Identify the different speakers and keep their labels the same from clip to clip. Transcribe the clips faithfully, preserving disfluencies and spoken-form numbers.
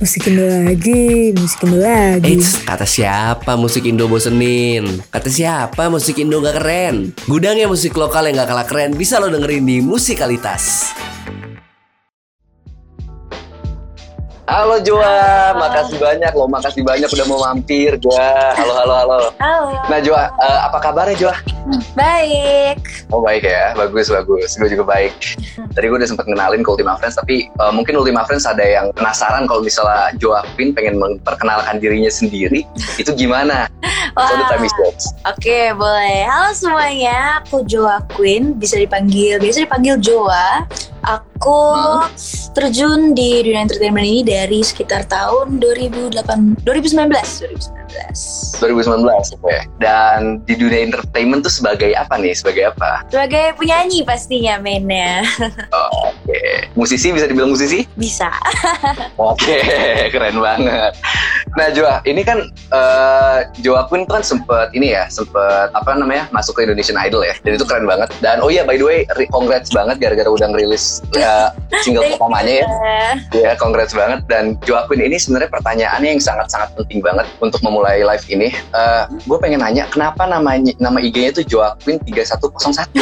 Speaker 1: Musik Indo lagi, musik Indo lagi.
Speaker 2: Eits, kata siapa musik Indo bosenin? Kata siapa musik Indo gak keren? Gudangnya musik lokal yang gak kalah keren bisa lo dengerin di Musikalitas. Halo Joa, makasih banyak lo, makasih banyak udah mau mampir Joa. Halo, halo, halo.
Speaker 3: Halo.
Speaker 2: Nah Joa, uh, apa kabarnya Joa?
Speaker 3: Baik.
Speaker 2: Oh baik ya, bagus, bagus. Gue juga baik. Tadi gue udah sempat kenalin ke Ultima Friends, tapi uh, mungkin Ultima Friends ada yang penasaran kalau misalnya Joa Queen pengen memperkenalkan dirinya sendiri, itu gimana? So the time is yours.
Speaker 3: Oke, boleh. Halo semuanya, aku Joa Queen, bisa dipanggil, biasa dipanggil Joa. Aku hmm. terjun di dunia entertainment ini dari sekitar tahun dua ribu delapan, dua ribu sembilan belas.
Speaker 2: dua ribu sembilan belas, oke. Okay. Dan di dunia entertainment tuh sebagai apa nih? Sebagai apa?
Speaker 3: Sebagai penyanyi pastinya mainnya.
Speaker 2: Oh, oke. Okay. Musisi, bisa dibilang musisi?
Speaker 3: Bisa.
Speaker 2: Oke, okay, keren banget. Nah Joa, ini kan uh, Joa Queen kan sempet ini ya, sempet apa namanya masuk ke Indonesian Idol ya, dan itu keren banget. Dan oh iya, by the way, congrats banget gara-gara udah ngerilis ya, single pertamanya ya. Ya, congrats banget. Dan Joa Queen ini sebenarnya pertanyaannya yang sangat-sangat penting banget untuk memulai live ini. Uh, gue pengen nanya, kenapa namanya nama I G-nya tuh Joa Queen tiga satu nol satu?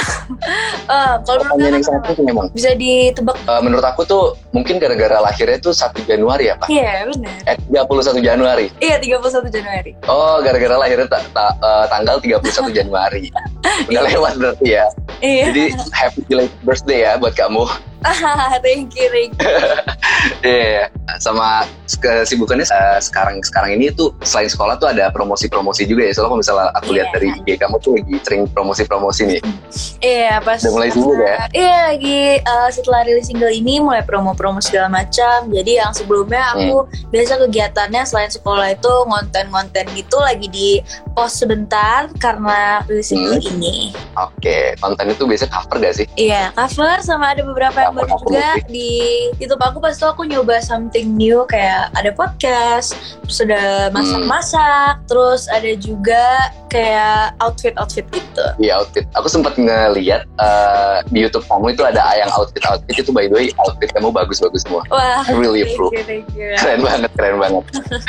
Speaker 3: uh, kalau
Speaker 2: pertanyaan yang sangat penting memang.
Speaker 3: Bisa ditebak.
Speaker 2: Uh, menurut aku tuh mungkin gara-gara lahirnya tuh satu Januari ya, Pak?
Speaker 3: Iya, benar.
Speaker 2: Eh, tiga puluh satu Januari.
Speaker 3: Iya, tiga puluh satu Januari.
Speaker 2: Oh, gara-gara lahirnya ta- ta- uh, tanggal tiga puluh satu Januari. Udah lewat berarti ya.
Speaker 3: Iya.
Speaker 2: Jadi happy belated birthday ya buat kamu.
Speaker 3: thank you, thank you.
Speaker 2: Iya, yeah. Sama kesibukannya uh, sekarang sekarang ini tuh selain sekolah tuh ada promosi-promosi juga ya. Soalnya kalau misalnya aku lihat yeah. dari I G kamu tuh lagi sering promosi-promosi nih.
Speaker 3: Iya, yeah, pas.
Speaker 2: Udah mulai sibuk ya?
Speaker 3: Iya, lagi uh, setelah rilis single ini mulai promo-promo segala macam. Jadi yang sebelumnya aku hmm. biasa kegiatannya selain sekolah itu ngonten-ngonten gitu lagi di post sebentar karena rilis single hmm. ini.
Speaker 2: Oke, okay. Konten itu biasanya cover gak sih?
Speaker 3: Iya, cover sama ada beberapa yang baru juga musik. Di YouTube aku pas itu aku nyoba something new kayak ada podcast, terus ada masak-masak, hmm. terus ada juga kayak outfit-outfit gitu.
Speaker 2: Iya, outfit. Aku sempat ngeliat uh, di YouTube kamu itu ada yang outfit-outfit itu, by the way outfit kamu bagus-bagus semua.
Speaker 3: Wah,
Speaker 2: I really approve.
Speaker 3: Thank you, thank you.
Speaker 2: Keren banget, keren banget.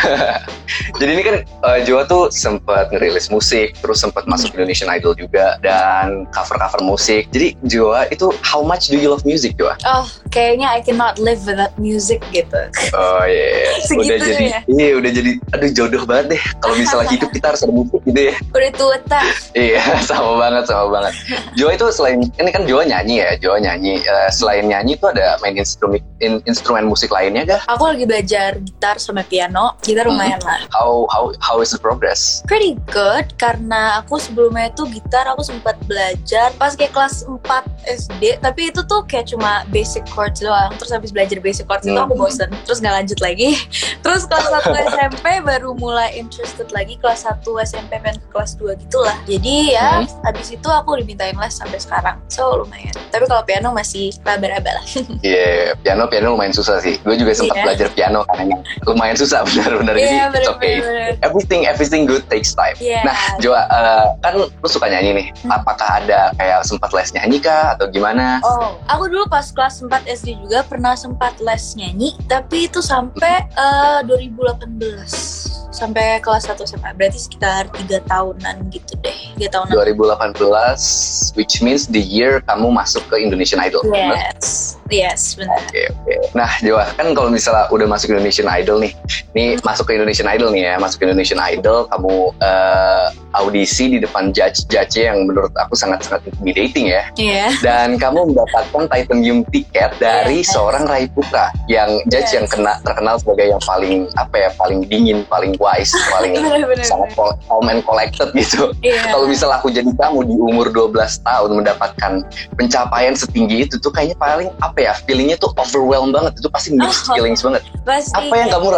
Speaker 2: Jadi ini kan uh, Joa tuh sempat ngerilis musik, terus sempat masuk Indonesian Idol juga dan cover-cover musik. Jadi Joa itu how much do you love music, Joa?
Speaker 3: Oh, kayaknya I cannot live without music gitu.
Speaker 2: Oh iya, yeah. Udah jadi, ya? Iya udah jadi, aduh jodoh banget deh. Kalau misalnya hidup kita harus ada musik gitu ya.
Speaker 3: Udah tua tak?
Speaker 2: Iya, sama banget, sama banget. Joa itu selain, ini kan Joa nyanyi ya, Joa nyanyi. Uh, selain nyanyi itu ada main instrumen, in, instrumen musik lainnya gak?
Speaker 3: Aku lagi belajar gitar sama piano, gitar lumayan hmm. lah.
Speaker 2: How how how is the progress?
Speaker 3: Pretty good, karena aku sebelumnya itu gitar aku sempat belajar pas kayak kelas empat S D, tapi itu tuh kayak cuma basic chords doang. Terus habis belajar basic chords hmm. itu aku bosen, terus gak lanjut lagi. Terus kelas satu S M P baru mulai interested lagi, kelas satu S M P pengen ke kelas dua gitulah. Jadi ya hmm. habis itu aku dimintain les sampai sekarang, so lumayan. Tapi kalau piano masih raba-raba lah.
Speaker 2: Iya, yeah, piano piano lumayan susah sih. Gue juga sempat yeah. belajar piano karena lumayan susah benar-benar.
Speaker 3: Yeah,
Speaker 2: jadi it's okay.
Speaker 3: Bener.
Speaker 2: Everything everything good takes time.
Speaker 3: Yeah.
Speaker 2: Nah, Joa, uh, kan lu suka nyanyi nih. Hmm. Apakah ada kayak sempat les nyanyi kah atau gimana?
Speaker 3: Oh, aku dulu pas kelas empat S D juga pernah sempat les nyanyi, tapi itu sampai uh, dua ribu delapan belas sampai kelas satu S M A, berarti sekitar tiga tahunan gitu deh. tiga tahunan.
Speaker 2: dua ribu delapan belas, which means the year kamu masuk ke Indonesian Idol.
Speaker 3: Yes,
Speaker 2: benar?
Speaker 3: yes, benar.
Speaker 2: Oke, okay, oke. Okay. Nah, Joa, kan kalau misalnya udah masuk Indonesian Idol nih, nih hmm. masuk ke Indonesian Idol nih ya, masuk ke Indonesian Idol, kamu uh, audisi di depan judge-judge yang menurut aku sangat-sangat intimidating ya.
Speaker 3: Iya. Yeah.
Speaker 2: Dan kamu mendapatkan titanium tiket dari yes. seorang Rai Putra, yang judge yes. yang kena, terkenal sebagai yang paling apa ya, paling dingin, paling wise, paling bener, bener, sangat bener. calm and collected gitu. Yeah. Kalau misalnya aku jadi kamu di umur dua belas tahun mendapatkan pencapaian setinggi itu tuh kayaknya paling apa ya, feelingnya tuh overwhelmed banget, itu pasti mixed oh, feelings banget.
Speaker 3: Pasti,
Speaker 2: apa yang ya. kamu rasain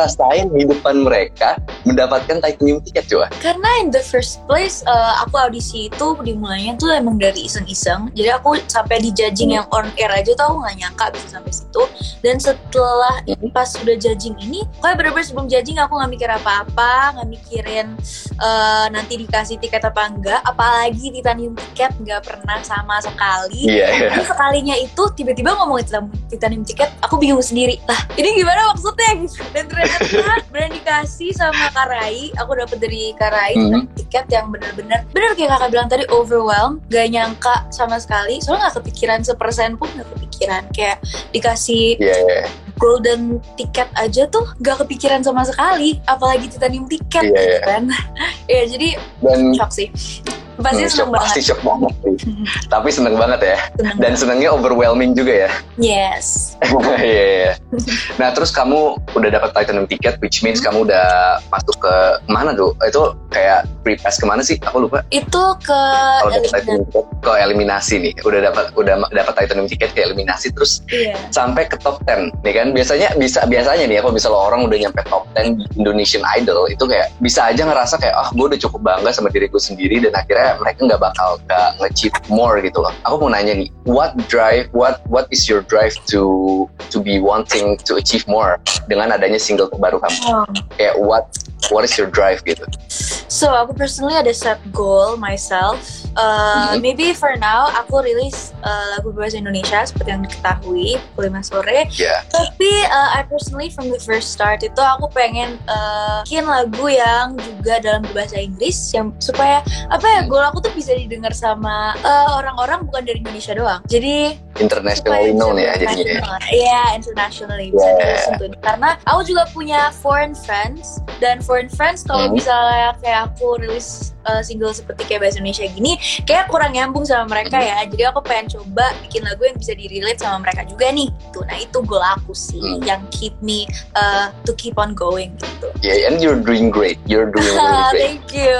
Speaker 2: main di depan mereka mendapatkan titanium tiket coba?
Speaker 3: Karena in the first place uh, aku audisi itu dimulainya tuh emang dari iseng-iseng. Jadi aku sampai di judging yang on air aja tuh aku nggak nyangka bisa sampai situ. Dan setelah pas udah judging ini, kayak bener-bener sebelum judging aku nggak mikir apa-apa, nggak mikirin uh, nanti dikasih tiket apa enggak. Apalagi titanium tiket nggak pernah sama sekali.
Speaker 2: Iya. Yeah,
Speaker 3: yeah. Sekalinya itu tiba-tiba ngomongin titanium tiket, aku bingung sendiri. Lah ini gimana maksudnya gitu. Dan ternyata bener dikasih sama Karai, aku dapet dari Karai mm-hmm. tiket yang bener-bener bener kayak kakak bilang tadi, overwhelmed, gak nyangka sama sekali, soalnya gak kepikiran sepersen pun gak kepikiran, kayak dikasih yeah, yeah. golden tiket aja tuh gak kepikiran sama sekali, apalagi titanium tiket yeah, gitu kan. Ya jadi dan, shock sih. Pasti
Speaker 2: hmm,
Speaker 3: seneng
Speaker 2: shock,
Speaker 3: banget.
Speaker 2: Pasti shock banget sih. Tapi seneng banget ya. Seneng Dan banget. Senengnya overwhelming juga ya.
Speaker 3: Yes.
Speaker 2: Iya. yeah, yeah. Nah terus kamu udah dapat titanium ticket, which means hmm. kamu udah masuk ke mana tuh? Itu kayak free pass kemana sih? Aku lupa.
Speaker 3: Itu ke
Speaker 2: eliminasi. Ke eliminasi nih. Udah dapat udah dapat titanium ticket ke eliminasi terus yeah. sampai ke top ten. Nih kan biasanya bisa biasanya nih ya kalau misalnya orang udah nyampe top ten di Indonesian Idol itu kayak bisa aja ngerasa kayak ah oh, gue udah cukup bangga sama diriku sendiri dan akhirnya mereka nggak bakal nggak nge-achieve more gitu loh. Aku mau nanya nih, what drive, what what is your drive to to be wanting to achieve more dengan adanya single terbaru kamu? Oh. Kayak what what is your drive gitu?
Speaker 3: So aku personally ada set goal myself. Uh, mm-hmm. Maybe for now aku rilis uh, lagu berbahasa Indonesia seperti yang diketahui pukul lima sore.
Speaker 2: Yeah.
Speaker 3: Tapi uh, I personally from the first start itu aku pengen uh, bikin lagu yang juga dalam berbahasa Inggris yang supaya apa ya goal aku tuh bisa didengar sama uh, orang-orang bukan dari Indonesia doang. Jadi
Speaker 2: internationally known ya jadinya.
Speaker 3: Iya, yeah, internationally bisa yeah. disentuh. Karena aku juga punya foreign friends dan foreign friends kalau hmm. misalnya kayak aku rilis uh, single seperti kayak bahasa Indonesia gini, kayak kurang nyambung sama mereka hmm. ya. Jadi aku pengen coba bikin lagu yang bisa di-relate sama mereka juga nih. Tuh, nah itu goal aku sih hmm. yang keep me uh, to keep on going gitu.
Speaker 2: Yeah, and you're doing great. You're doing really great.
Speaker 3: Thank you.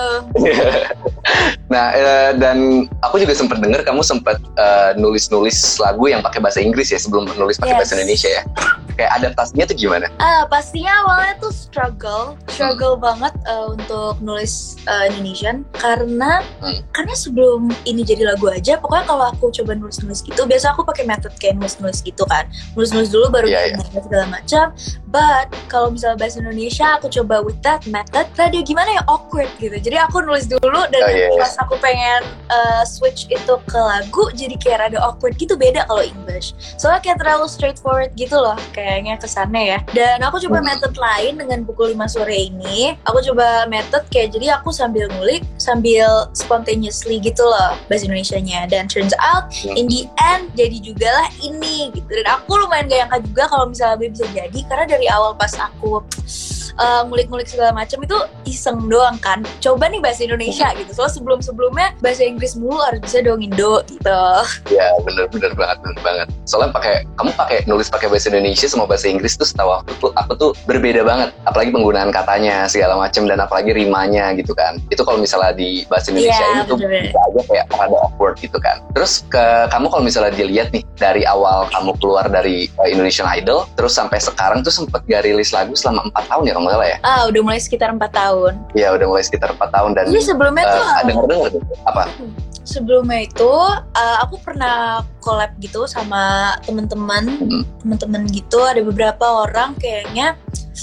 Speaker 2: Nah, uh, dan aku juga sempat dengar kamu sempat uh, nulis-nulis lagu yang pakai bahasa Inggris ya sebelum nulis pakai yes. bahasa Indonesia ya. Kayak adaptasinya tuh gimana?
Speaker 3: Uh, pastinya awalnya tuh struggle, struggle hmm. banget uh, untuk nulis uh, Indonesian karena hmm. karena sebelum ini jadi lagu aja, pokoknya kalau aku coba nulis-nulis gitu, biasa aku pakai method kayak nulis-nulis gitu kan, nulis-nulis dulu baru yeah, yeah. segala macam. But kalau misalnya bahasa Indonesia, aku coba with that method, rada gimana ya awkward gitu. Jadi aku nulis dulu dan oh, yeah, pas yeah. aku pengen uh, switch itu ke lagu, jadi kayak rada awkward gitu, beda kalau English. Soalnya kayak terlalu straightforward gitu loh. Kayaknya kesannya ya. Dan aku coba hmm. method lain dengan pukul lima sore ini. Aku coba method kayak jadi aku sambil ngulik, sambil spontaneously gitu loh bahasa Indonesianya. Dan turns out hmm. in the end jadi juga lah ini gitu. Dan aku lumayan gak nyangka juga kalau misalnya gue bisa jadi, karena dari awal pas aku uh, ngulik-ngulik segala macam itu iseng doang kan. Coba nih bahasa Indonesia gitu. Soalnya sebelum-sebelumnya bahasa Inggris mulu, harus bisa dong Indo gitu.
Speaker 2: Ya bener-bener banget, bener banget. Soalnya pakai kamu pakai nulis pakai bahasa Indonesia sama bahasa Inggris tuh setahu aku tuh aku tuh berbeda banget. Apalagi penggunaan katanya segala macam dan apalagi rimanya gitu kan. Itu kalau misalnya di bahasa Indonesia yeah, ini tuh bisa aja kayak ada awkward gitu kan. Terus ke kamu kalau misalnya dilihat nih dari awal kamu keluar dari uh, Indonesian Idol terus sampai sekarang tuh sempet gak rilis lagu selama empat tahun ya kalau nggak salah ya?
Speaker 3: Ah udah mulai sekitar empat tahun.
Speaker 2: Iya udah mulai sekitar empat tahun dan. Jadi
Speaker 3: sebelumnya uh, tuh
Speaker 2: dengar-dengar tuh apa?
Speaker 3: Sebelumnya itu uh, aku pernah collab gitu sama teman-teman, hmm. teman-teman gitu, ada beberapa orang kayaknya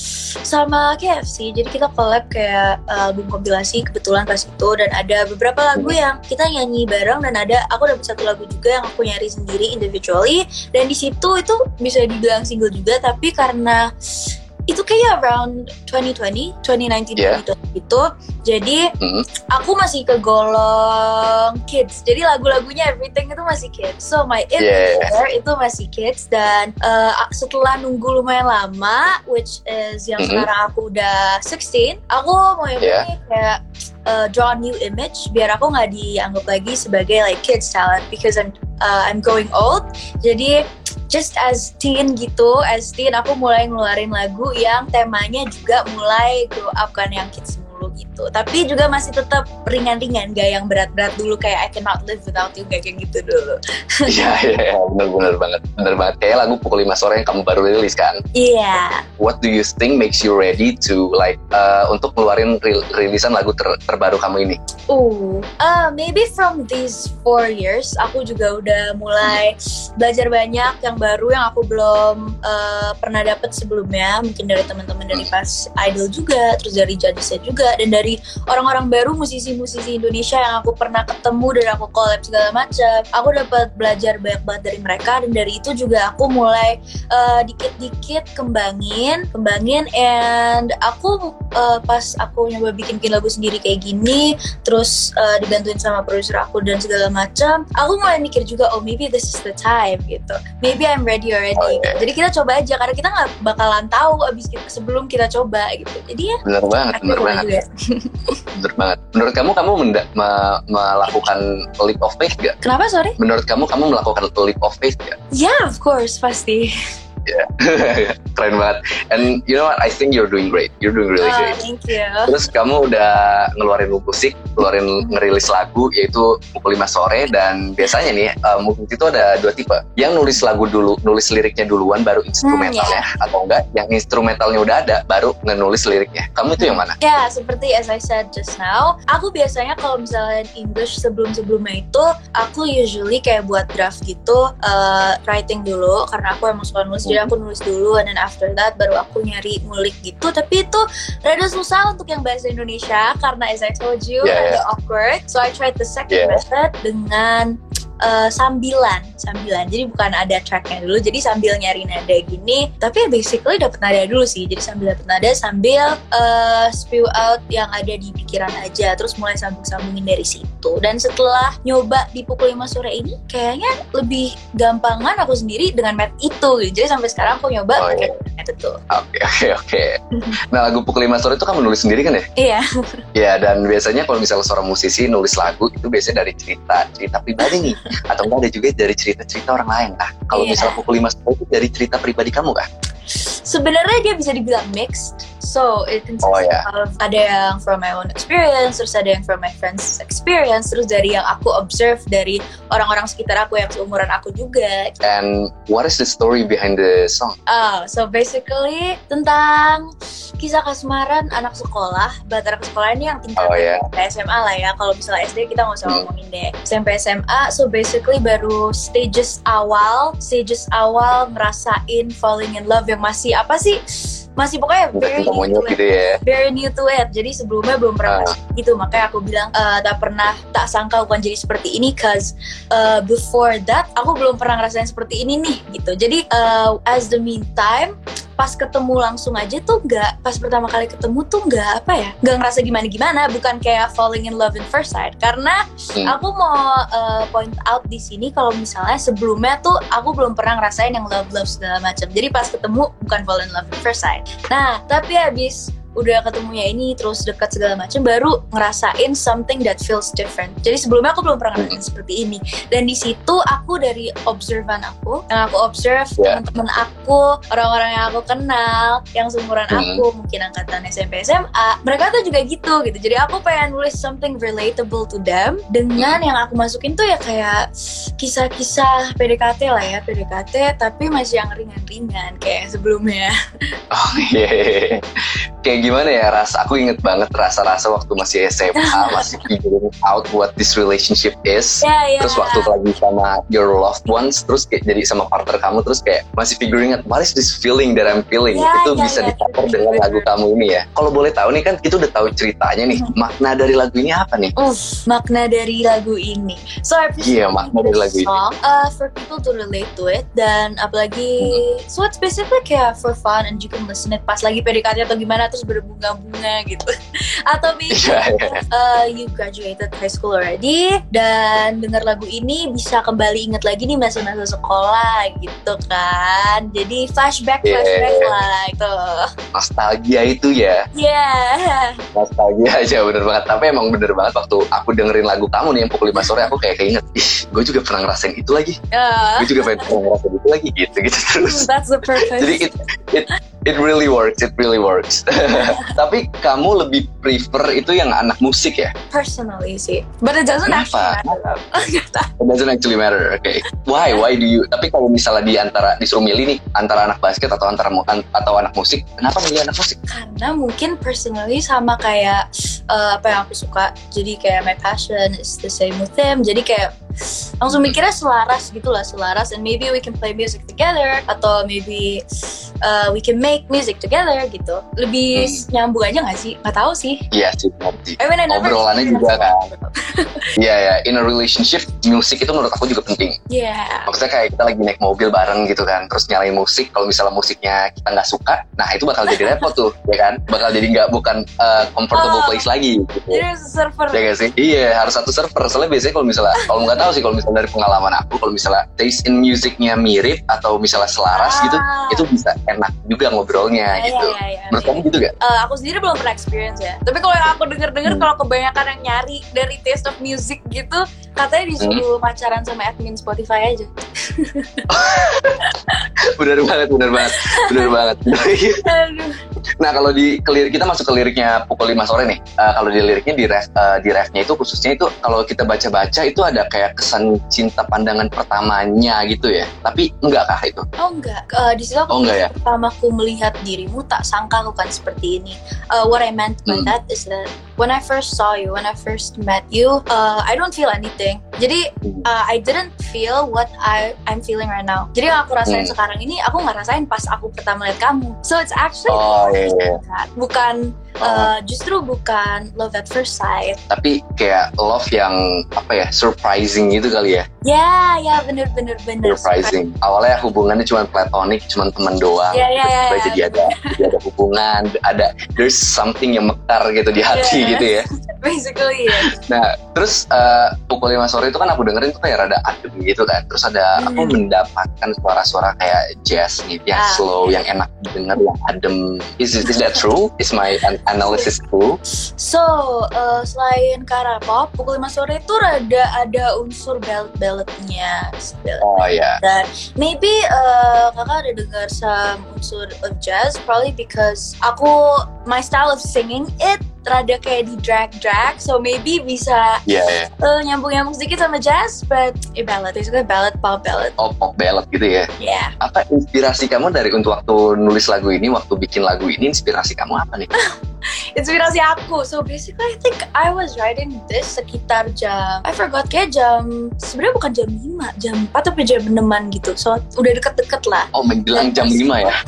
Speaker 3: sama K F C. Jadi kita collab kayak uh, album kompilasi kebetulan pas itu, dan ada beberapa lagu hmm. yang kita nyanyi bareng, dan ada aku dapat satu lagu juga yang aku nyari sendiri individually, dan di situ itu bisa dibilang single juga, tapi karena itu kayak around twenty twenty, twenty nineteen, yeah. twenty twenty gitu. Jadi mm. aku masih kegolong kids. Jadi lagu-lagunya everything itu masih kids. So my image yeah. itu masih kids. Dan uh, setelah nunggu lumayan lama, which is yang mm-hmm. sekarang aku udah sixteen, aku mau yeah. kayak uh, draw a new image biar aku nggak dianggap lagi sebagai like kids talent, because I'm uh, I'm going old. Jadi just as teen gitu, as teen aku mulai ngeluarin lagu yang temanya juga mulai grow up kan, yang kids mulu gitu. Tapi juga masih tetap ringan-ringan, gak yang berat-berat dulu kayak I Cannot Live Without You, gak kayak gitu dulu.
Speaker 2: Iya, iya, ya, benar-benar banget. Benar banget. Kayak lagu Pukul lima Sore yang kamu baru rilis kan?
Speaker 3: Iya. Yeah.
Speaker 2: What do you think makes you ready to like uh, untuk ngeluarin ril- rilisan lagu ter- terbaru kamu ini?
Speaker 3: Uh, uh, maybe from these four years, aku juga udah mulai belajar banyak yang baru yang aku belum uh, pernah dapet sebelumnya. Mungkin dari teman-teman dari pas Idol juga, terus dari judgesnya juga, dan dari orang-orang baru musisi-musisi Indonesia yang aku pernah ketemu dan aku collab segala macam. Aku dapat belajar banyak banget dari mereka, dan dari itu juga aku mulai uh, dikit-dikit kembangin, kembangin, and aku uh, pas aku nyoba bikin-bikin lagu sendiri kayak gini, terus uh, dibantuin sama produser aku dan segala macam, aku mulai mikir juga, oh maybe this is the time gitu, maybe I'm ready already.
Speaker 2: Okay.
Speaker 3: Jadi kita coba aja, karena kita nggak bakalan tahu abis kita, sebelum kita coba gitu. Jadi ya.
Speaker 2: Bener banget, bener banget. Bener banget. Menurut kamu, kamu menda- me- melakukan leap of faith gak?
Speaker 3: Kenapa, sorry?
Speaker 2: Menurut kamu, kamu melakukan leap of faith gak?
Speaker 3: Yeah, of course, pasti.
Speaker 2: Yeah. Keren banget. And you know what? I think you're doing great. You're doing really
Speaker 3: Oh,
Speaker 2: great.
Speaker 3: thank you.
Speaker 2: Terus kamu udah ngeluarin musik, ngeluarin ngerilis lagu yaitu Pukul lima Sore, dan biasanya nih uh, musik itu ada dua tipe. Yang nulis lagu dulu, nulis liriknya duluan baru instrumentalnya,
Speaker 3: Hmm, yeah.
Speaker 2: atau enggak yang instrumentalnya udah ada baru ngenulis liriknya. Kamu itu yang mana?
Speaker 3: Ya, seperti as I said just now, aku biasanya kalau misalnya English sebelum-sebelumnya itu, aku usually kayak buat draft gitu, uh, writing dulu, karena aku emang suka nulis, jadi aku nulis dulu, and then after that baru aku nyari ngulik gitu. Tapi itu rada susah untuk yang bahasa Indonesia, karena as I told you,
Speaker 2: Yeah,
Speaker 3: rada
Speaker 2: yeah.
Speaker 3: awkward. So I tried the second
Speaker 2: Yeah.
Speaker 3: method dengan Uh, sambilan, sambilan. Jadi bukan ada tracknya dulu, jadi sambil nyari nada gini. Tapi basically dapet nada dulu sih. Jadi sambil dapet nada, sambil uh, spew out yang ada di pikiran aja. Terus mulai sambung-sambungin dari situ. Dan setelah nyoba di Pukul lima Sore ini, kayaknya lebih gampangan aku sendiri dengan met itu. Jadi sampai sekarang aku nyoba
Speaker 2: Oh,
Speaker 3: pakai
Speaker 2: iya.
Speaker 3: met itu.
Speaker 2: Oke, oke, oke. Nah, lagu Pukul lima Sore itu kamu nulis sendiri kan ya?
Speaker 3: Iya.
Speaker 2: Ya, dan biasanya kalau misalnya seorang musisi nulis lagu itu biasanya dari cerita cerita pribadi nih, atau enggak ada juga dari cerita-cerita orang lain. Nah, kalau
Speaker 3: Iya.
Speaker 2: misalnya Pukul lima Sore itu dari cerita pribadi kamu kah?
Speaker 3: Sebenarnya dia bisa dibilang mixed. So it consists
Speaker 2: Oh, yeah.
Speaker 3: of ada yang from my own experience, terus ada yang from my friends' experience, terus dari yang aku observe dari orang-orang sekitar aku yang seumuran aku juga.
Speaker 2: And what is the story behind the song?
Speaker 3: Oh, so basically tentang kisah kasmaran anak sekolah. Buat anak sekolah ini yang tingkat
Speaker 2: Oh, yeah.
Speaker 3: S M A lah ya. Kalau misalnya S D kita nggak usah
Speaker 2: Hmm.
Speaker 3: ngomongin deh. S M P S M A, so basically baru stages awal, stages awal ngerasain falling in love yang masih apa sih? Masih pokoknya
Speaker 2: Udah
Speaker 3: very
Speaker 2: cinta
Speaker 3: new
Speaker 2: monyet
Speaker 3: to
Speaker 2: gitu
Speaker 3: it.
Speaker 2: ya.
Speaker 3: Very new to it. Jadi sebelumnya belum pernah
Speaker 2: Ah.
Speaker 3: gitu. Makanya aku bilang uh, tak pernah, tak sangka bukan jadi seperti ini. Cause uh, before that aku belum pernah ngerasain seperti ini nih gitu. Jadi uh, as the meantime, pas ketemu langsung aja tuh nggak, pas pertama kali ketemu tuh nggak apa ya, nggak ngerasa gimana-gimana, bukan kayak falling in love in first sight. Karena
Speaker 2: Hmm.
Speaker 3: aku mau uh, point out di sini kalau misalnya sebelumnya tuh aku belum pernah ngerasain yang love love segala macam. Jadi pas ketemu bukan fall in love in first sight. Nah, tapi habis udah ketemunya ini terus dekat segala macam, baru ngerasain something that feels different. Jadi sebelumnya aku belum pernah ngerasain seperti ini. Dan di situ aku dari observan aku, yang aku observe
Speaker 2: Yeah.
Speaker 3: teman-teman aku, orang-orang yang aku kenal, yang seumuran
Speaker 2: Hmm.
Speaker 3: aku, mungkin angkatan S M P S M A, mereka tuh juga gitu gitu. Jadi aku pengen nulis something relatable to them dengan yang aku masukin tuh ya kayak kisah-kisah P D K T lah ya, P D K T, tapi masih yang ringan-ringan kayak sebelumnya.
Speaker 2: Oh iya. Kayak gimana ya, rasa aku inget banget rasa-rasa waktu masih S M A, masih figuring out what this relationship is.
Speaker 3: Ya, ya.
Speaker 2: Terus waktu lagi sama your loved ones, terus kayak jadi sama partner kamu, terus kayak masih figuring out what is this feeling that I'm feeling.
Speaker 3: Ya,
Speaker 2: Itu
Speaker 3: ya,
Speaker 2: bisa
Speaker 3: ya,
Speaker 2: di-cover
Speaker 3: bener,
Speaker 2: dengan
Speaker 3: bener.
Speaker 2: lagu kamu ini ya. Kalau boleh tahu nih, kan kita udah tahu ceritanya nih. Makna dari lagu ini apa nih?
Speaker 3: Uff, makna dari lagu ini. So I appreciate
Speaker 2: Iya, makna dari lagu
Speaker 3: this
Speaker 2: ini.
Speaker 3: song uh, for people to relate to it, dan apalagi so it's basically kayak for fun and you can listen it pas lagi P D K T atau gimana terus berbunga-bunga gitu. Atau maybe
Speaker 2: Iya, iya.
Speaker 3: uh, you graduated high school already dan dengar lagu ini bisa kembali inget lagi nih masa-masa sekolah gitu kan. Jadi flashback
Speaker 2: Yeah.
Speaker 3: flashback lah gitu.
Speaker 2: Nostalgia itu ya.
Speaker 3: Yeah.
Speaker 2: Nostalgia aja, bener banget. Tapi emang bener banget waktu aku dengerin lagu kamu nih yang Pukul lima Sore, aku kayak keinget, ih, gue juga pernah ngerasain itu lagi.
Speaker 3: Uh,
Speaker 2: Gue juga pengen pernah ngerasain itu lagi, gitu-gitu terus.
Speaker 3: that's the purpose.
Speaker 2: Jadi it- it it really works, it really works. Tapi kamu lebih prefer itu yang anak musik ya?
Speaker 3: Personally sih, but it doesn't
Speaker 2: Kenapa?
Speaker 3: actually matter.
Speaker 2: It doesn't actually matter, oke. Okay. Why? Why do you? Tapi kalau misalnya di antara disuruh milih nih antara anak basket atau antara an, atau anak musik, kenapa milih anak musik?
Speaker 3: Karena mungkin personally sama kayak uh, apa yang aku suka, jadi kayak my passion is the same with him, jadi kayak langsung mikirnya selaras gitu lah, selaras, and maybe we can play music together atau maybe uh, we can make music together gitu. Lebih hmm. nyambung aja nggak sih? Nggak tahu sih.
Speaker 2: Iya sih, ngerti.
Speaker 3: I mean, I
Speaker 2: obrolannya juga kan. Iya ya, in a relationship musik itu menurut aku juga penting.
Speaker 3: Iya. Yeah.
Speaker 2: Maksudnya kayak kita lagi naik mobil bareng gitu kan, terus nyalain musik. Kalau misalnya musiknya kita nggak suka, nah itu bakal jadi repot tuh, ya kan? Bakal jadi nggak bukan uh, comfortable oh, place lagi. Gitu.
Speaker 3: Jadi harus server.
Speaker 2: Ya gak sih? Iya, harus satu server. Soalnya biasanya kalau misalnya, kalau nggak tahu sih, kalau misalnya dari pengalaman aku, kalau misalnya taste in musicnya mirip atau misalnya selaras ah. gitu, itu bisa enak juga ngobrolnya ya, gitu. Ya, ya, ya, menurut kamu gitu gak?
Speaker 3: Uh, aku sendiri belum pernah experience ya. Tapi kalau yang aku denger-denger, hmm. kalau kebanyakan yang nyari dari taste of music gitu, katanya disuruh hmm. pacaran sama admin Spotify aja.
Speaker 2: Bener banget, bener banget, bener banget. Nah kalau di lirik kita masuk ke liriknya pukul lima sore nih. Uh, kalau di liriknya di ref, uh, di refnya itu khususnya itu kalau kita baca-baca itu ada kayak kesan cinta pandangan pertamanya gitu ya. Tapi enggak kah itu?
Speaker 3: Oh enggak. Uh, di situ aku
Speaker 2: oh, enggak, ya?
Speaker 3: pertama aku melihat dirimu tak sangka aku kan seperti ini. Uh, what I meant by hmm. that is that when I first saw you, when I first met you, uh, I don't feel anything. Jadi uh, I didn't feel what I I'm feeling right now. Jadi yang aku rasain hmm. sekarang ini aku nggak rasain pas aku pertama lihat kamu. So it's actually
Speaker 2: oh, yeah, yeah.
Speaker 3: bukan uh, justru bukan love at first sight.
Speaker 2: Tapi kayak love yang apa ya, surprising gitu kali ya?
Speaker 3: Ya, yeah, ya yeah, bener bener bener.
Speaker 2: Surprising. Awalnya hubungannya cuma platonic, cuma teman doang.
Speaker 3: Ya ya ya.
Speaker 2: Terus jadi ada jadi ada hubungan, ada there's something yang mekar gitu di hati yeah. gitu ya.
Speaker 3: Basically ya. Yeah.
Speaker 2: Nah, terus uh, pukul lima sore itu kan aku dengerin tuh kayak rada adem gitu kan. Terus ada hmm. aku mendapatkan suara-suara kayak jazz nih, yang ah. slow, yang enak didengar, yang adem. Is is that true? Is my analysis true?
Speaker 3: So, uh, selain ke arah pop, pukul lima sore itu rada ada unsur ballad-balladnya.
Speaker 2: Oh ya. Yeah.
Speaker 3: Dan maybe uh, kakak ada dengar some unsur of jazz, probably because aku my style of singing it rada kayak di drag-drag, so maybe bisa
Speaker 2: yeah, yeah.
Speaker 3: Uh, nyambung-nyambung sedikit sama jazz, but eh, ballad, basically ballad, pop ballad.
Speaker 2: Oh, pop ballad gitu ya?
Speaker 3: Yeah.
Speaker 2: Apa inspirasi kamu dari untuk waktu nulis lagu ini, waktu bikin lagu ini, inspirasi kamu apa nih?
Speaker 3: Inspirasi aku, so basically I think I was writing this sekitar jam, I forgot, kayak jam, sebenarnya bukan jam lima, jam empat atau jam enaman gitu, so udah deket-deket lah.
Speaker 2: Oh, menjelang jam lima ya?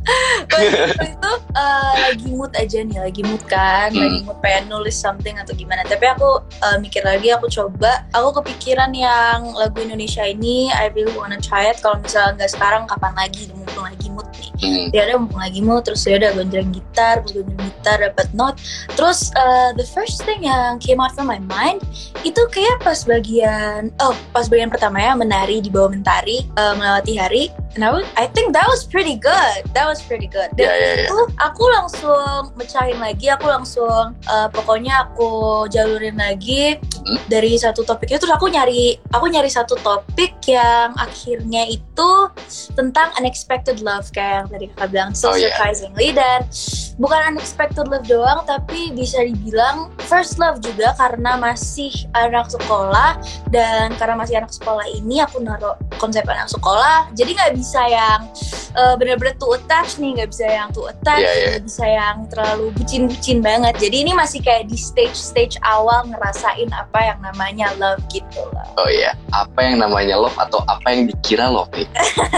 Speaker 3: Itu uh, lagi mood aja nih, lagi mood kan, hmm. lagi mood pengen nulis something atau gimana. Tapi aku uh, mikir lagi, aku coba, aku kepikiran yang lagu Indonesia ini, I really wanna try it. Kalau misalnya nggak sekarang, kapan lagi? Mumpung lagi mood nih. Hmm. Ya udah mumpung lagi mood, terus ya udah gonjreng gitar, gonjreng gitar, dapat note. Terus uh, the first thing yang came out from my mind itu kayak pas bagian, oh pas bagian pertama ya, menari di bawah mentari, uh, melewati hari. And I, was, I think that was pretty good. That was pretty good. Dan
Speaker 2: yeah, yeah, yeah.
Speaker 3: itu aku langsung mecahin lagi, aku langsung uh, pokoknya aku jalurin lagi hmm? dari satu topiknya. Terus aku nyari, aku nyari satu topik yang akhirnya itu tentang unexpected love kayak yang tadi kakak bilang, so
Speaker 2: oh,
Speaker 3: surprisingly
Speaker 2: yeah.
Speaker 3: dan bukan unexpected love doang, tapi bisa dibilang first love juga karena masih anak sekolah. Dan karena masih anak sekolah ini aku naruh konsep anak sekolah, jadi nggak bisa yang uh, benar-benar too attached nih, nggak bisa yang too attached,
Speaker 2: yeah, yeah.
Speaker 3: nggak bisa yang terlalu bucin-bucin banget. Jadi ini masih kayak di stage-stage awal ngerasain apa yang namanya love gitu loh.
Speaker 2: Oh iya, apa yang namanya love atau apa yang dikira love nih?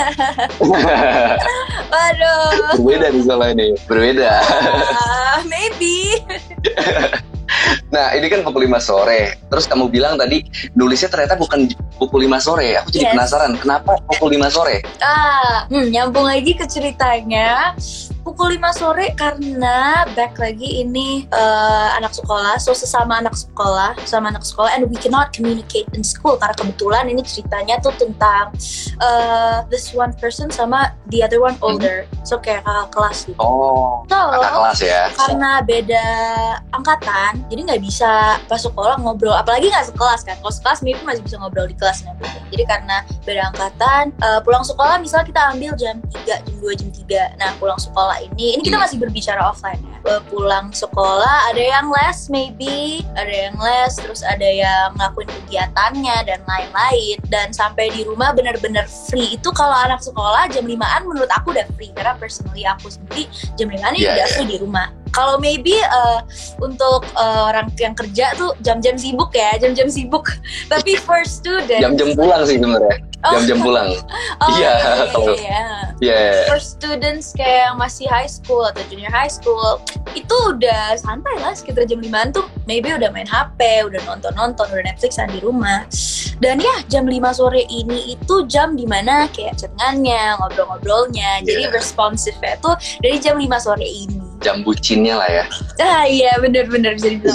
Speaker 3: Waduh.
Speaker 2: Berbeda nih soalnya nih, berbeda.
Speaker 3: Uh, maybe.
Speaker 2: Nah ini kan pukul lima sore. Terus kamu bilang tadi nulisnya ternyata bukan pukul lima sore. Aku jadi yes. penasaran kenapa pukul lima sore?
Speaker 3: Ah, hmm, nyambung lagi ke ceritanya. Pukul pukul lima sore karena back lagi ini uh, anak sekolah, so sesama anak sekolah, sama anak sekolah, and we cannot communicate in school karena kebetulan ini ceritanya tuh tentang uh, this one person sama the other one older, hmm. so kayak kakak kelas gitu.
Speaker 2: Oh,
Speaker 3: so,
Speaker 2: kakak kelas ya.
Speaker 3: Karena beda angkatan, jadi nggak bisa pas sekolah ngobrol, apalagi nggak sekelas kan. Kalau sekelas maybe masih bisa ngobrol di kelas nanti. Jadi karena beda angkatan, uh, pulang sekolah misalnya kita ambil jam tiga, jam dua, jam tiga. Nah pulang sekolah ini, ini kita masih berbicara offline ya. Pulang sekolah ada yang les maybe, ada yang les, terus ada yang ngelakuin kegiatannya dan lain-lain. Dan sampai di rumah benar-benar free. Itu kalau anak sekolah jam limaan menurut aku udah free, karena personally aku sendiri jam limaan ini
Speaker 2: yeah,
Speaker 3: udah
Speaker 2: yeah.
Speaker 3: free di rumah. Kalau maybe uh, untuk uh, orang yang kerja tuh jam-jam sibuk ya, jam-jam sibuk. Tapi for student,
Speaker 2: jam-jam pulang sih sebenarnya.
Speaker 3: Oh.
Speaker 2: Jam-jam pulang.
Speaker 3: Oh,
Speaker 2: iya,
Speaker 3: kalau iya.
Speaker 2: Yeah.
Speaker 3: For students kayak yang masih high school atau junior high school, itu udah santai lah, sekitar jam limaan tuh maybe udah main H P, udah nonton-nonton, udah Netflixan di rumah. Dan ya jam lima sore ini itu jam dimana kayak chattingannya, ngobrol-ngobrolnya, yeah. Jadi responsifnya tuh dari jam lima sore ini.
Speaker 2: Jam bucinnya lah ya.
Speaker 3: Ah iya benar-benar bisa dibilang.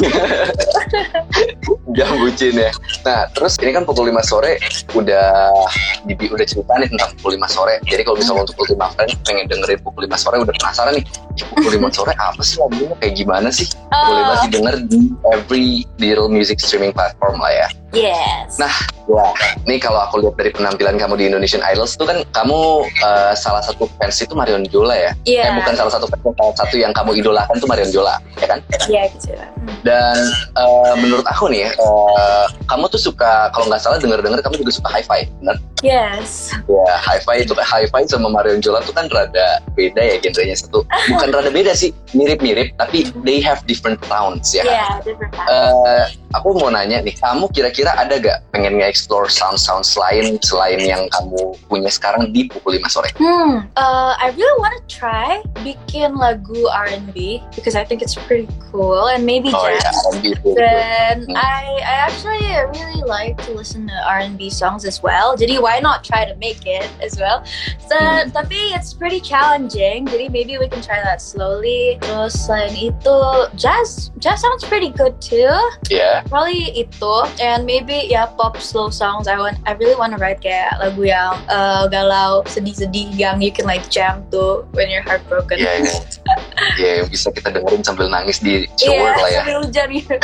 Speaker 2: Jam bucin ya. Nah terus ini kan pukul lima sore udah di, udah cerita nih tentang pukul lima sore. Jadi kalau misalnya untuk Ultima Friends pengen dengerin pukul lima sore, udah penasaran nih pukul lima sore apa sih lagunya, kayak gimana sih? Boleh banget didengar di every digital music streaming platform lah ya.
Speaker 3: Yes.
Speaker 2: Nah, wah, nih kalau aku lihat dari penampilan kamu di Indonesian Idols tuh kan kamu uh, salah satu fans itu Marion Jola ya?
Speaker 3: Iya.
Speaker 2: Yeah. Eh, bukan salah satu fans, salah satu yang kamu idolakan tuh Marion Jola, ya kan?
Speaker 3: Iya, yeah, gitu.
Speaker 2: Dan uh, menurut aku nih, uh, kamu tuh suka, kalau nggak salah denger-denger kamu juga suka hi-fi, benar?
Speaker 3: Yes.
Speaker 2: Ya, hi-fi itu hi-fi sama Marion Jola tuh kan rada beda ya genrenya. Satu, bukan rada beda sih, mirip-mirip, tapi they have different sounds ya.
Speaker 3: Iya, yeah, different sounds.
Speaker 2: Uh, aku mau nanya nih, kamu kira-kira ada gak pengen nge-explore sound-sound lain selain yang kamu punya sekarang di pukul lima sore?
Speaker 3: Hmm, uh, I really want to try bikin lagu R and B because I think it's pretty cool and maybe
Speaker 2: oh,
Speaker 3: jazz.
Speaker 2: Yeah, R and B
Speaker 3: Dan
Speaker 2: hmm.
Speaker 3: I, I actually really like to listen to R and B songs as well. Jadi why not try to make it as well? So, hmm. Tapi it's pretty challenging. Jadi maybe we can try that slowly. Terus selain itu, jazz, jazz sounds pretty good too.
Speaker 2: Yeah.
Speaker 3: Probably itu, and maybe ya pop slow songs. I want, I really want to write kayak lagu yang uh, galau, sedih-sedih yang you can like jam to when you're heartbroken.
Speaker 2: Iya, yeah, iya. Yeah. Iya, yeah, bisa kita dengerin sambil nangis di shower
Speaker 3: yeah,
Speaker 2: lah ya.
Speaker 3: Sambil hujan gitu.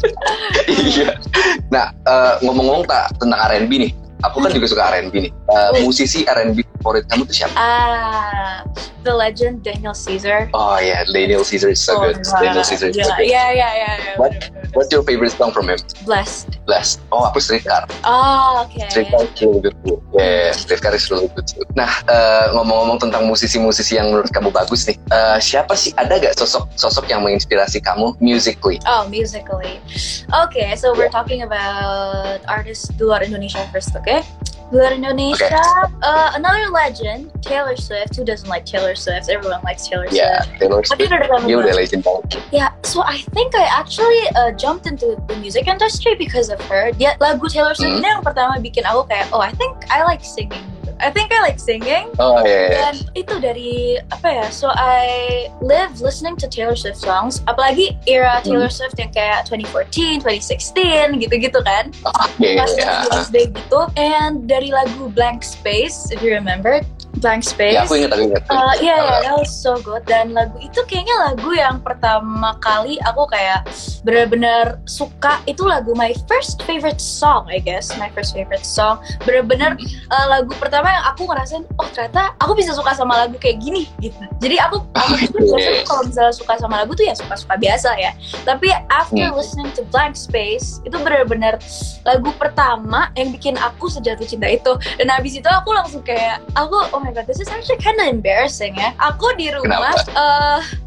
Speaker 2: Iya. Nah, uh, ngomong-ngomong tak tentang R and B nih. Aku kan juga suka R and B nih. Uh, musisi R and B favorit kamu tuh siapa?
Speaker 3: Ah, the legend Daniel Caesar.
Speaker 2: Oh yeah, Daniel Caesar is so
Speaker 3: oh,
Speaker 2: good.
Speaker 3: Wow.
Speaker 2: Daniel Caesar is so good.
Speaker 3: Yeah, yeah, yeah, yeah.
Speaker 2: What, what's your favorite song from him?
Speaker 3: Blessed.
Speaker 2: Blessed. Oh, aku Streetcar.
Speaker 3: Oh, okay.
Speaker 2: Streetcar is really good too. Yeah, Streetcar is really good too. Nah, uh, ngomong-ngomong tentang musisi-musisi yang menurut kamu bagus nih, uh, siapa sih, ada gak sosok-sosok yang menginspirasi kamu musically?
Speaker 3: Oh, musically. Okay, so we're talking about artists di luar Indonesia first, okay? Di luar Indonesia, okay. uh, another legend, Taylor Swift. Who doesn't like Taylor Swift? Everyone likes Taylor Swift.
Speaker 2: Yeah, Taylor Swift. Dia udah legend banget.
Speaker 3: Yeah, so I think I actually uh, jumped into the music industry because of her. Dia lagu Taylor Swift ini hmm. yang pertama bikin aku kayak, oh I think I like singing. I think I like singing.
Speaker 2: Oh yeah.
Speaker 3: Dan itu dari apa ya? So I live listening to Taylor Swift songs. Apalagi era Taylor hmm. Swift yang kayak twenty fourteen, twenty sixteen gitu-gitu kan.
Speaker 2: Oke. Okay,
Speaker 3: yeah. gitu. And dari lagu Blank Space, if you remember. Blank Space.
Speaker 2: Ya, aku ingat, aku ingat.
Speaker 3: Uh, yeah, yeah, that was so good. Dan lagu itu kayaknya lagu yang pertama kali aku kayak benar-benar suka. Itu lagu my first favorite song, I guess. My first favorite song. Benar-benar uh, lagu pertama yang aku ngerasain, oh ternyata aku bisa suka sama lagu kayak gini gitu. Jadi aku, aku tuh biasanya kalau misalnya suka sama lagu tuh ya suka-suka biasa ya. Tapi after hmm. listening to Blank Space, itu benar-benar lagu pertama yang bikin aku sejatuh cinta itu. Dan habis itu aku langsung kayak, aku oh my god, this is actually kind of embarrassing ya. Aku di rumah uh,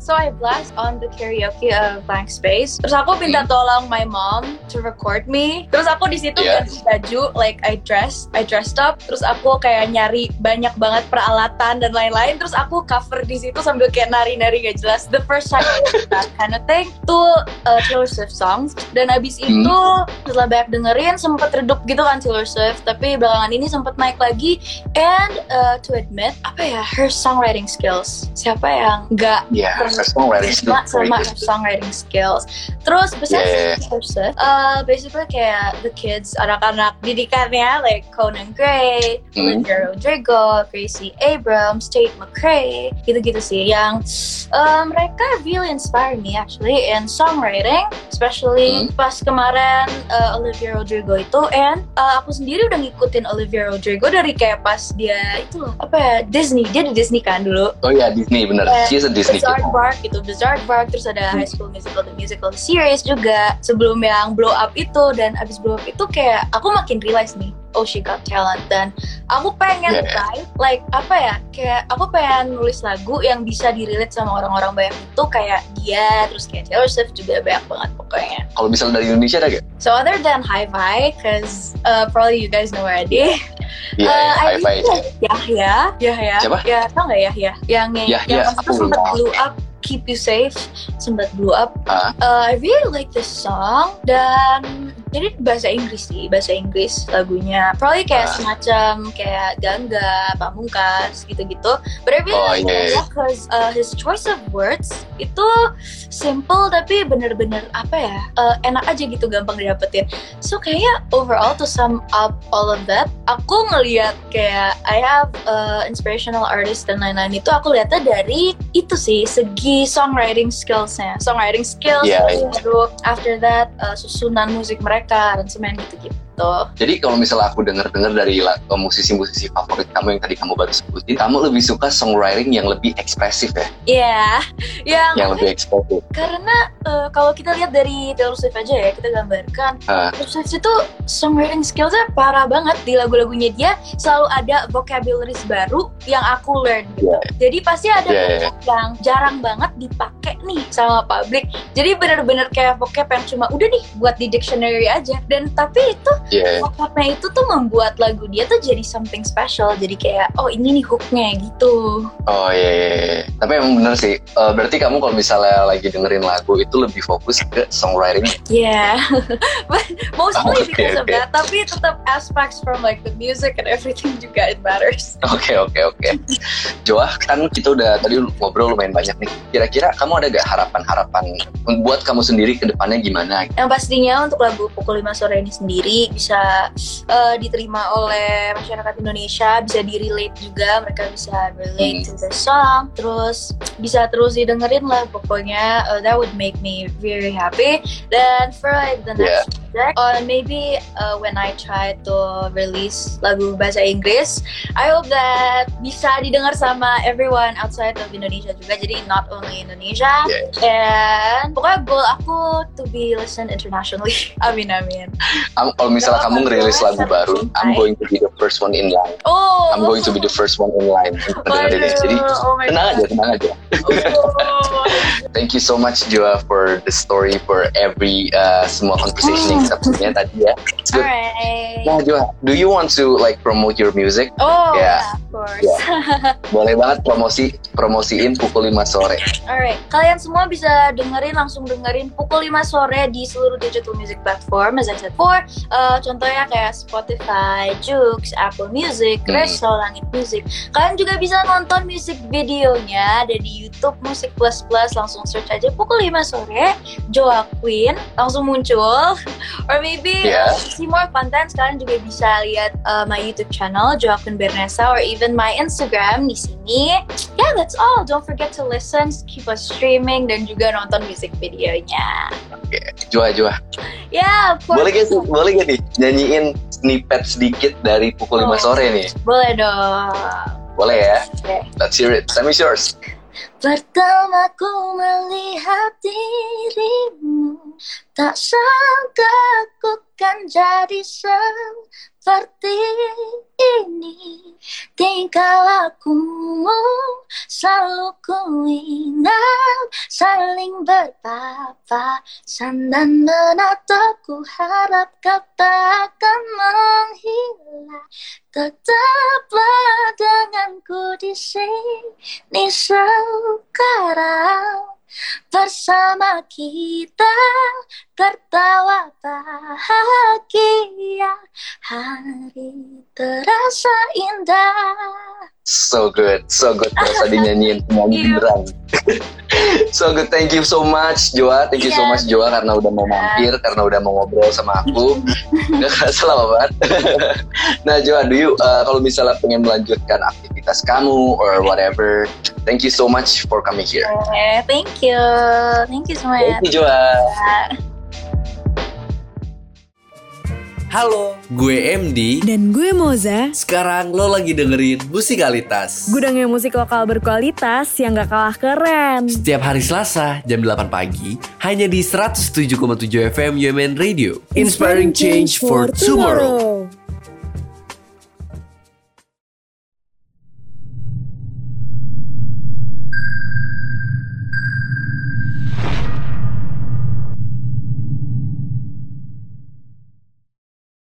Speaker 3: So I blast on the karaoke of Blank Space. Terus aku minta tolong my mom to record me. Terus aku di situ
Speaker 2: Yeah.
Speaker 3: ganti baju, like I dressed, I dressed up. Terus aku kayak nyari banyak banget peralatan dan lain-lain. Terus aku cover di situ sambil kayak nari-nari gak jelas. The first time I did that kind of thing tuh uh, Taylor Swift songs. Dan abis
Speaker 2: Hmm.
Speaker 3: itu setelah banyak dengerin sempet redup gitu kan Taylor Swift. Tapi belakangan ini sempet naik lagi. And uh, to admit, apa ya, her songwriting skills. Siapa yang gak
Speaker 2: Yeah, her songwriting skills
Speaker 3: sama, sama
Speaker 2: very
Speaker 3: her
Speaker 2: good.
Speaker 3: songwriting skills. Terus besides
Speaker 2: Yeah, yeah,
Speaker 3: Taylor Swift, uh, basically kayak the kids, anak-anak didikannya like Conan Gray,
Speaker 2: Hmm.
Speaker 3: Olivia Rodrigo, Gracie Abrams, Tate McRae, gitu-gitu sih. Yang uh, mereka really inspire me actually in songwriting, especially
Speaker 2: Hmm.
Speaker 3: pas kemarin uh, Olivia Rodrigo itu. And uh, aku sendiri udah ngikutin Olivia Rodrigo dari kayak pas dia itu loh, apa ya, Disney. Dia di Disney kan dulu.
Speaker 2: Oh iya, Disney bener.
Speaker 3: Yeah.
Speaker 2: She's a Disney kid.
Speaker 3: Bizarre Bark gitu, Bizarre Bark, terus ada High School Musical, the musical series juga sebelum yang blow up itu. Dan abis blow up itu kayak aku makin realize nih, oh she got talent. Dan aku pengen
Speaker 2: Yeah.
Speaker 3: write, like apa ya, kayak aku pengen nulis lagu yang bisa di-relate sama orang-orang banyak itu, kayak dia, terus kayak Taylor Swift juga banyak banget pokoknya.
Speaker 2: Kalau misalnya dari Indonesia ada gak?
Speaker 3: So other than Hi-Fi, cause uh, probably you guys know already.
Speaker 2: Iya,
Speaker 3: Uh, I
Speaker 2: Hi-Fi
Speaker 3: really like Yahya, Yahya.
Speaker 2: Siapa?
Speaker 3: Ya, tau nggak Yahya? Yang
Speaker 2: Yahya,
Speaker 3: yang
Speaker 2: aku
Speaker 3: itu sempat
Speaker 2: belum.
Speaker 3: blew up, Keep You Safe, sempat blew up.
Speaker 2: Ah.
Speaker 3: Uh, I really like this song. Dan jadi bahasa Inggris sih, bahasa Inggris lagunya. Probably kayak
Speaker 2: Ah.
Speaker 3: semacam kayak Gangga, Pamungkas gitu-gitu. But I really
Speaker 2: Oh,
Speaker 3: like
Speaker 2: yeah.
Speaker 3: Yahya because uh, his choice of words itu simple tapi bener-bener apa ya, uh, enak aja gitu, gampang didapetin. So kayak overall to sum up all of that, aku ngelihat kayak I have uh, inspirational artist dan lain-lain itu aku lihatnya dari itu sih, segi songwriting skillsnya, songwriting skills.
Speaker 2: Iya, iya.
Speaker 3: Baru after that uh, susunan musik mereka, aransemen gitu-gitu.
Speaker 2: Jadi kalau misalnya aku dengar-dengar dari la- musisi-musisi favorit kamu yang tadi kamu baru sebutin, kamu lebih suka songwriting yang lebih ekspresif ya?
Speaker 3: Iya, yang
Speaker 2: Yang lebih ekspresif.
Speaker 3: karena uh, kalau kita lihat dari Taylor Swift aja ya, kita gambarkan
Speaker 2: Ah.
Speaker 3: Taylor Swift itu songwriting skillsnya parah banget. Di lagu-lagunya dia selalu ada vocabularies baru yang aku learn gitu. Jadi pasti ada
Speaker 2: Yeah, yeah.
Speaker 3: vocab yang jarang banget dipakai nih sama publik. Jadi bener-bener kayak vocab yang cuma udah nih buat di dictionary aja. Dan tapi itu
Speaker 2: Iya.
Speaker 3: vocabnya itu tuh membuat lagu dia tuh jadi something special. Jadi kayak oh ini nih hooknya gitu.
Speaker 2: Oh iya, iya, iya. Tapi emang bener sih. Eh, berarti kamu kalau misalnya lagi dengerin lagu itu lebih fokus ke songwriting.
Speaker 3: Yeah, but mostly
Speaker 2: Oh, okay,
Speaker 3: because of
Speaker 2: okay.
Speaker 3: that. Tapi tetap aspects from like the music and everything juga it matters.
Speaker 2: Oke oke oke. Joah, kan kita udah tadi ngobrol lumayan banyak nih. Kira-kira kamu ada gak harapan-harapan buat kamu sendiri ke depannya gimana?
Speaker 3: Yang pastinya untuk lagu Pukul lima Sore ini sendiri bisa uh, diterima oleh masyarakat Indonesia, bisa di-relate juga, mereka bisa relate
Speaker 2: Hmm.
Speaker 3: to the song, terus bisa terus didengerin lah pokoknya. Uh, that would make me very happy. Dan for like the next project, or maybe uh, when I try to release lagu bahasa Inggris, I hope that bisa didengar sama everyone outside of Indonesia juga, jadi not only Indonesia.
Speaker 2: Yeah.
Speaker 3: And pokoknya goal aku to be listened internationally. Amin amin.
Speaker 2: Am- Kalau misalnya
Speaker 3: Kalau
Speaker 2: kamu ngerilis
Speaker 3: aku
Speaker 2: lagu baru, I'm
Speaker 3: sampai-
Speaker 2: going to be the first one in line.
Speaker 3: Oh,
Speaker 2: I'm going to be the first one in line untuk dengerin ini. Jadi
Speaker 3: oh my
Speaker 2: tenang
Speaker 3: God.
Speaker 2: aja, tenang aja.
Speaker 3: Oh.
Speaker 2: Thank you so much Joa for the story, for every uh, semua conversation yang kita punya tadi ya. It's good.
Speaker 3: Alright.
Speaker 2: Nah Joa, do you want to like promote your music?
Speaker 3: Oh,
Speaker 2: Yeah.
Speaker 3: yeah, of course.
Speaker 2: Boleh banget promosi promosiin Pukul lima sore.
Speaker 3: Alright, kalian semua bisa dengerin, langsung dengerin Pukul lima Sore di seluruh digital music platform, as I said before. Uh, contohnya kayak Spotify, Joox, Apple Music,
Speaker 2: Hmm.
Speaker 3: Reso, Langit Music. Kalian juga bisa nonton music videonya ada di YouTube Musik Plus Plus. Langsung search aja Pukul lima Sore, Joa Queen, langsung muncul. Or maybe
Speaker 2: Yeah.
Speaker 3: uh, see more content, kalian juga bisa lihat uh, my YouTube channel Joa Queen Bernesa, or even my Instagram di sini. Yeah, that's all. Don't forget to listen, keep us streaming, dan juga nonton music videonya.
Speaker 2: Oke, Joa Joa.
Speaker 3: Yeah, of course.
Speaker 2: Boleh gak sih? Boleh gak nih nyanyiin snippet sedikit dari Pukul lima
Speaker 3: Oh.
Speaker 2: sore nih?
Speaker 3: Boleh dong.
Speaker 2: Boleh ya?
Speaker 3: Oke.
Speaker 2: Let's hear it. Time is yours.
Speaker 3: Pertama ku melihat dirimu, tak sangka ku kan jadi seperti ini. Tingkah lakumu selalu ku ingat, saling berpapasan dan menatapku, harap kau takkan menghilang. Tetaplah denganku di sini sekarang, bersama kita tertawa bahagia, hari terasa indah.
Speaker 2: So good, so good. Terasa dinyanyiin nyanyi beneran. So good, thank you so much Joa, thank you so much Joa karena udah mau mampir, karena udah mau ngobrol sama aku. Gak kerasa lama banget. Nah Joa, do you uh, kalau misalnya pengen melanjutkan aktivitas kamu or whatever, thank you so much for coming here.
Speaker 3: Okay, thank you, thank you semuanya.
Speaker 2: Thank you Joa.
Speaker 4: Halo, gue M D.
Speaker 1: Dan gue Moza.
Speaker 4: Sekarang lo lagi dengerin Musikalitas.
Speaker 1: Gudangnya musik lokal berkualitas yang gak kalah keren.
Speaker 4: Setiap hari Selasa jam delapan pagi hanya di seratus tujuh koma tujuh F M U M N Radio. Inspiring change for tomorrow.